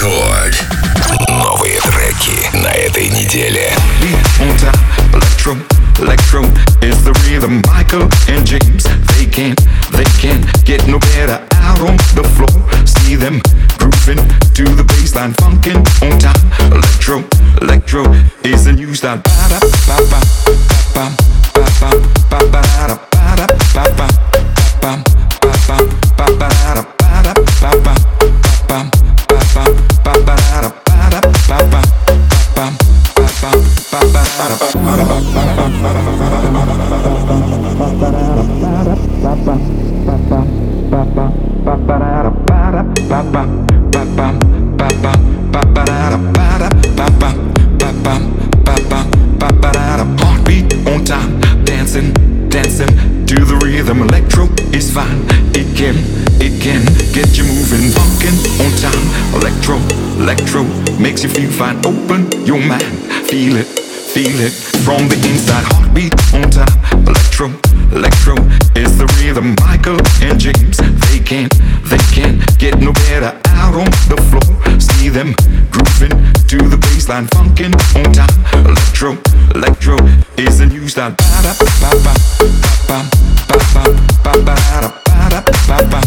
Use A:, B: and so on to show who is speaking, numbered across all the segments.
A: Рекорд. Новые треки на этой неделе.
B: Electro, electro is the rhythm. Michael and James, they can't get no better out on the floor. See them grooving to the bassline, funkin' on time. Electro, electro is the new style. Ba ba ba ba ba ba ba ba ba ba ba ba ba ba ba ba Heartbeat on time, dancing to the rhythm. Electro is fine, it can get you moving. Funkin' on time, electro makes you feel fine. Open your mind, feel it from the inside. Heartbeat on time, electro is the rhythm. Michael and James, they can't get no better out on the floor. See them grooving to the bassline, funkin' on time. Electro is the new style. Ba ba ba ba ba ba ba ba ba ba ba.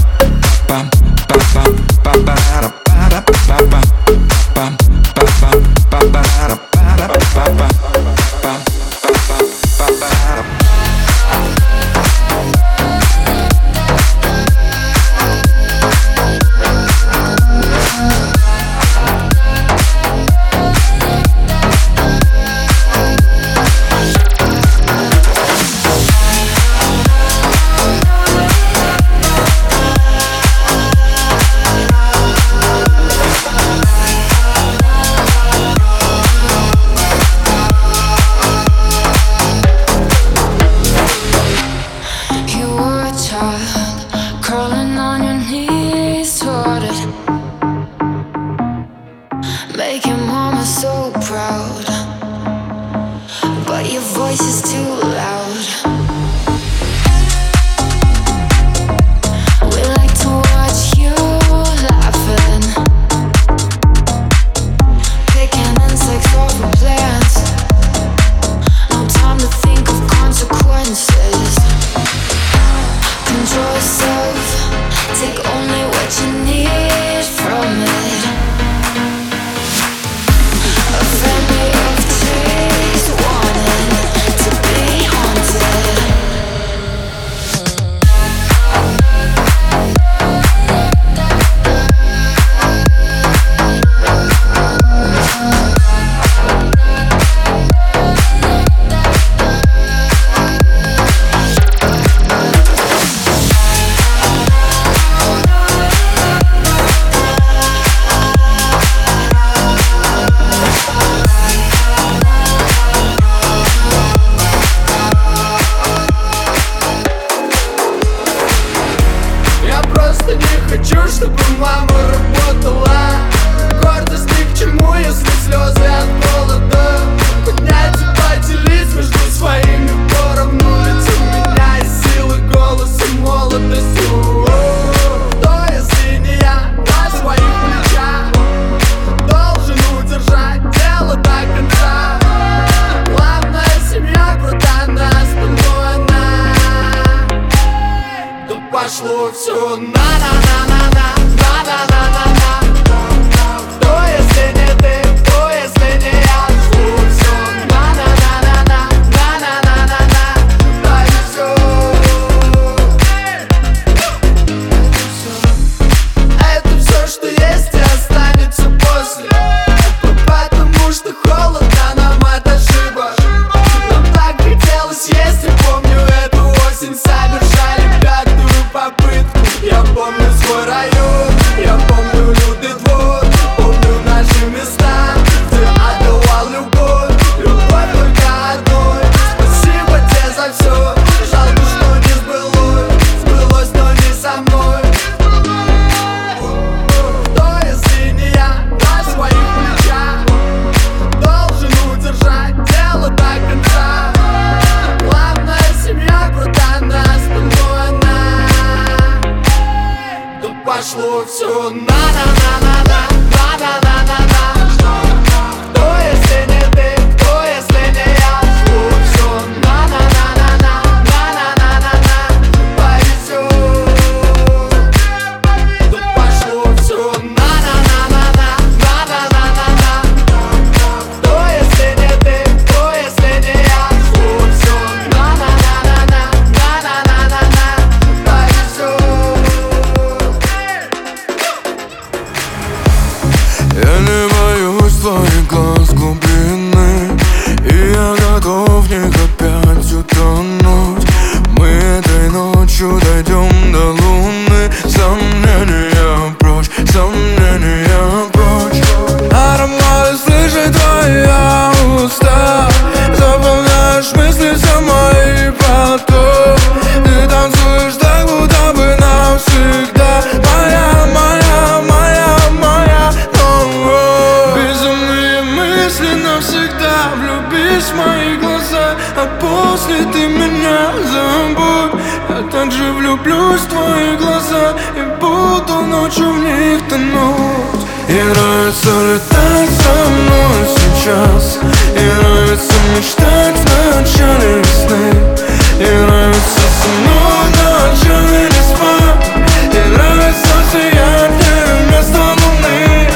C: Я не боюсь твоих глаз глубины, и я готов в них опять утонуть. Мы этой ночью дойдем до луны. Сомнения прочь, сомнения прочь. Ароматы слышит твоя уста, заполняешь мысли все мои поток. Ты танцуешь так, будто бы навсегда. Моя, моя, моя, моя, безумные мысли навсегда. Влюбись в мои глаза, а после ты меня забудь. Я также влюблюсь в твои глаза и буду ночью в них тонуть. И нравится летать со мной сейчас, и нравится мечтать в начале весны, и нравится со мной ночами не спать, и нравится сиять вместо луны.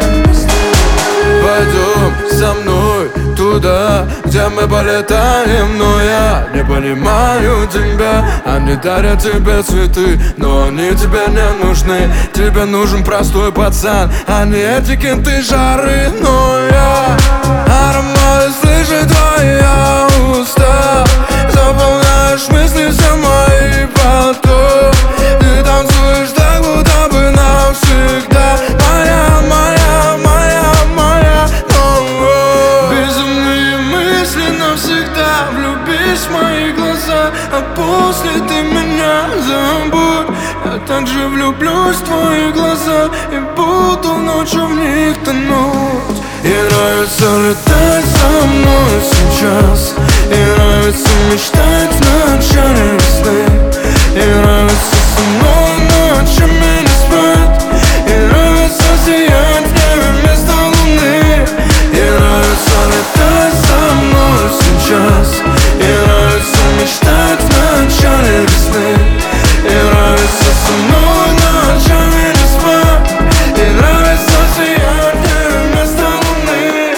C: Пойдем со мной туда, где мы полетаем, но я не понимаю тебя. Они дарят тебе цветы, но они тебе не нужны. Тебе нужен простой пацан, а не этикеты жары. Но я ароматы слышит твоя уста, заполняешь мысли все мои поток. Ты танцуешь так, будто бы навсегда. Моя, моя, моя, моя, безумные мысли навсегда. Влюбись в мои глаза, а после ты меня забудь. Я также влюблюсь в твои глаза и буду ночью в них тонуть. И нравится летать со мной сейчас, и нравится мечтать в начале весны, и нравится со мной ночами не спать, и нравится сиять в небе вместо луны. И нравится летать со мной сейчас, и нравится мечтать в начале весны, и нравится со мной ночами не спать, и нравится сиять в небе вместо луны.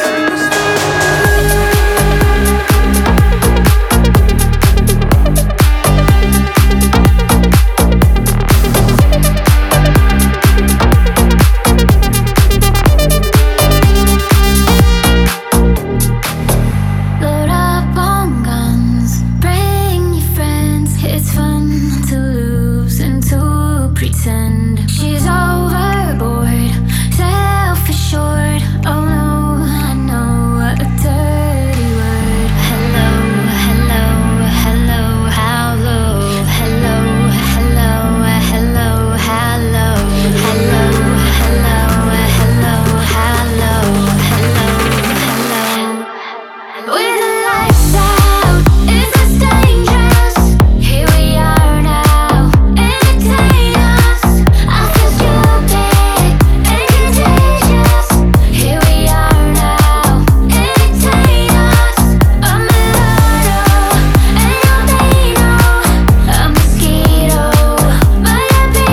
D: Load up on guns, bring your friends. It's fun to lose and to pretend. She's overboard, self-assured. Oh no, I know a dirty word. Hello, hello, hello, how low? Hello, hello, hello, how low? Hello, hello, hello, how low? Hello, hello. With the lights out, is this dangerous? Here we are now, entertain us. I feel stupid and contagious. Here we are now, entertain us. A mulatto and albino, a mosquito, might I be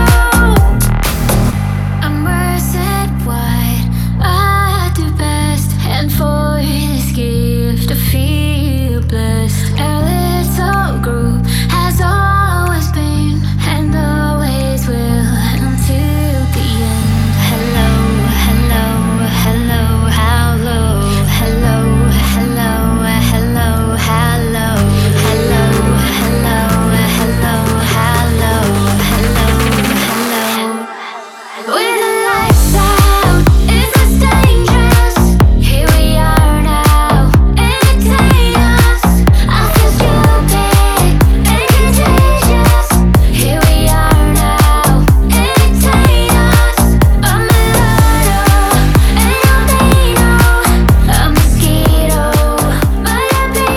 D: you? I'm worsted wide, I do best, and for this gift I feel blessed. Our little group has always been and always will until the end. Hello, hello, hello, how low? Hello, hello, hello, how low? Hello, hello, hello, how low? Hello, hello. With the lights out, is this dangerous? Here we are now, entertain us. I feel stupid and contagious. Here we are now, entertain us. A mulatto and albino, a mosquito, might I be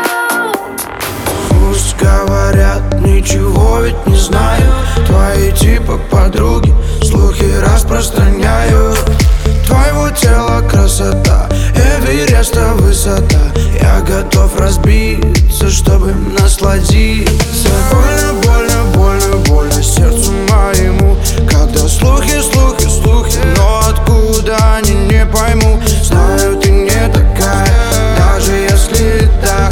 D: you?
E: Пусть говорят, ничего ведь не знаю. Твои типа подруги слухи распространяют. Твоего тела красота, Эвереста высота. Я готов разбиться, чтобы насладиться. Больно, больно, больно, больно сердцу моему, когда слухи, слухи, слухи, но откуда они, не пойму. Знаю, ты не такая, даже если так.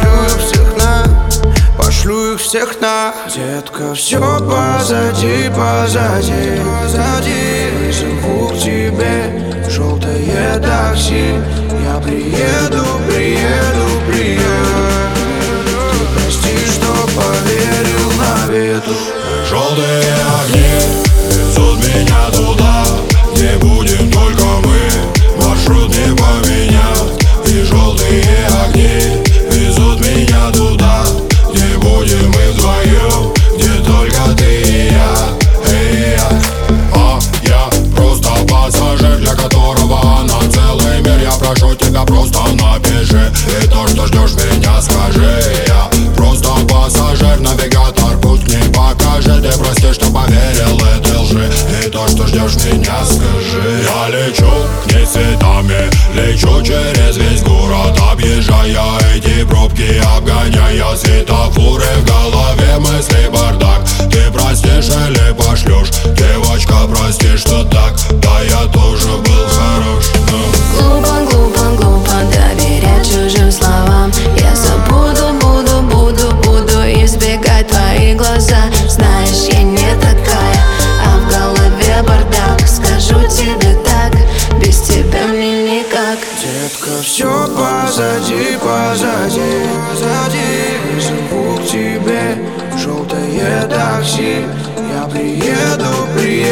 E: Пошлю их всех на. Детка, все позади, позади, позади. Живу к тебе
F: Желтые огни везут меня туда, где будем только мы, маршрут не поменять. И желтые огни везут меня туда, где будем мы вдвоем, где только ты и я. А я просто пассажир, для которого она целый мир. Я прошу тебя, просто напиши, и то, что ждешь меня, скажи. Я просто пассажир, навигатор путь к ней покажи. Ты прости, что поверил этой лжи, и то, что ждешь меня, скажи. Я лечу к ней цветами, лечу через весь город, объезжая эти пробки, обгоняя светофоры. В голове мысли бардак, ты простишь или пошлешь? Девочка, прости, что так, да я тоже был хорош.
G: Глупо, глупо, глупо доверять чужим словам. Я забуду, буду избегать твои глаза. Знаешь, я не такая, а в голове бардак. Скажу тебе так, без тебя мне никак.
E: Детка, все позади, позади, позади. Живу к тебе, желтое такси. Я приеду.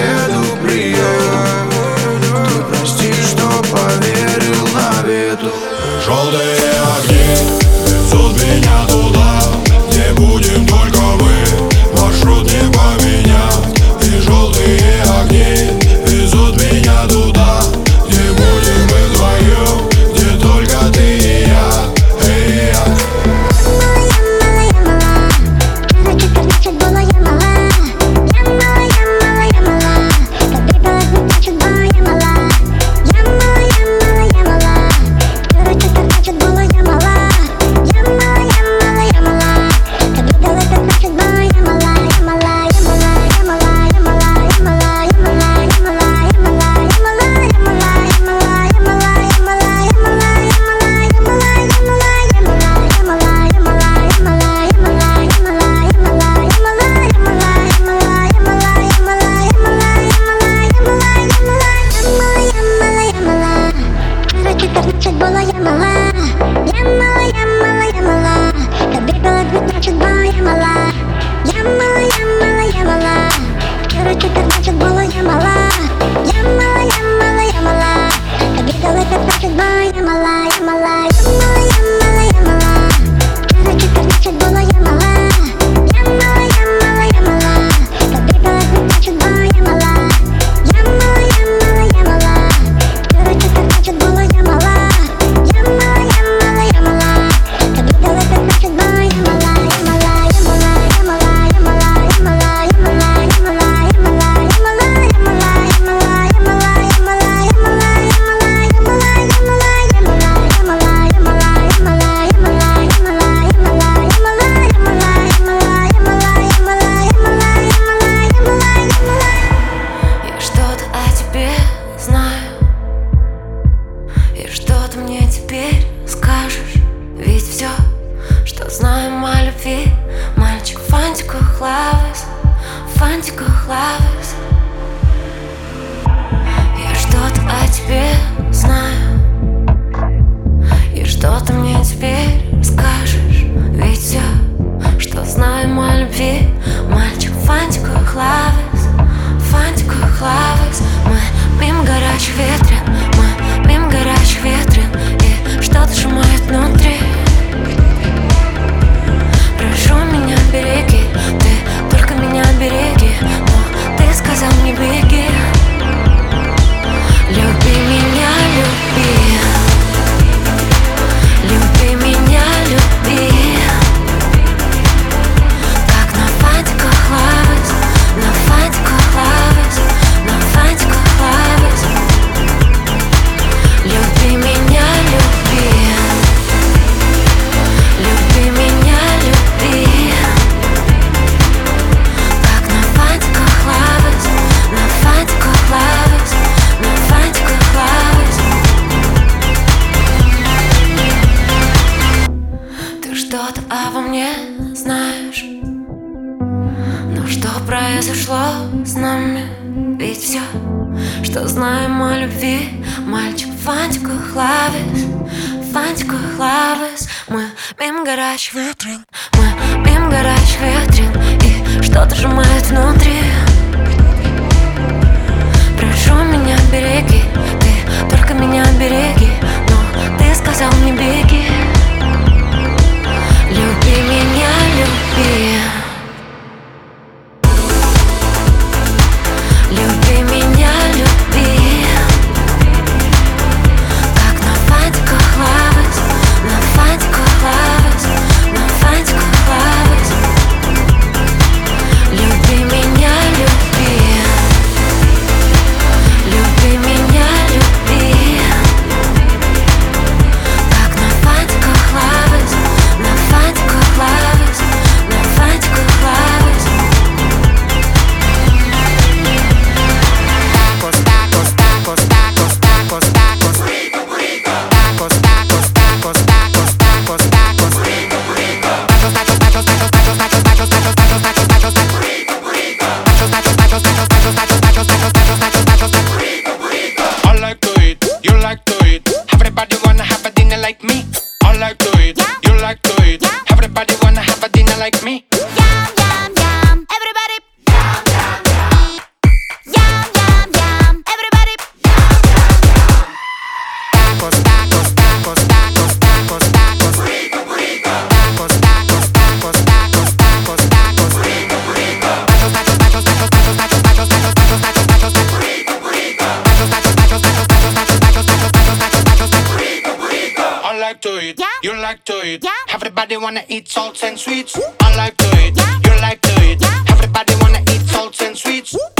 E: Ты прости, что поверил навету.
F: Желтые огни везут меня туда, где будем только мы, маршрут не поменять. И желтые огни везут меня туда, где будем мы вдвоем, где только ты и я.
G: Я что-то о тебе знаю, и что ты мне теперь скажешь? Ведь все, что знаем о любви, мальчик в фантиках лавес, фантиках лавес. Мы мимо горячих ветрен, мы мимо горячих ветрен, и что-то сжимает внутри. Прошу меня, береги, ты только меня береги, но ты сказал не беги. Люби меня, люби, люби меня, люби. Как на фантиках лавес, на фантиках лавес, на фантиках лавес. Люби меня, люби, люби меня, люби. Как на фантиках лавес, на фантиках лавес, на фантиках лавес. Ты что-то обо мне знаешь, но что произошло с нами? Ведь все, что знаем о любви, мальчик в фантиках лавес, в фантиках лавес. Мы мимо горячих ветрен, мы мимо горячих ветрен, и что что-то сжимает внутри. Прошу меня береги, ты только меня береги. Но ты сказал мне беги. Люби меня, люби. Люби меня, люби. Как на фантиках лавать, на фантиках лавать, на фантиках лавать. Люби меня, люби. Люби меня, люби. Как на фантиках лавать, на фантиках лавать, на фантиках лавать.
H: I like to eat, you like to eat. Everybody wanna have a dinner like me. I like to eat, you like to eat. Everybody wanna have a dinner like me.
D: Yum, yum, yum, everybody. Yum, yum, yum, everybody.
H: Tacos, tacos, tacos, tacos, tacos, tacos. Tacos, tacos, tacos, tacos, tacos, tacos. Tacos, tacos, tacos, tacos, tacos, tacos, tacos, tacos, tacos, tacos, tacos. I like to eat, you like to eat. Everybody wanna eat salts and sweets. I like to eat, you like to eat. Everybody wanna eat salts and sweets.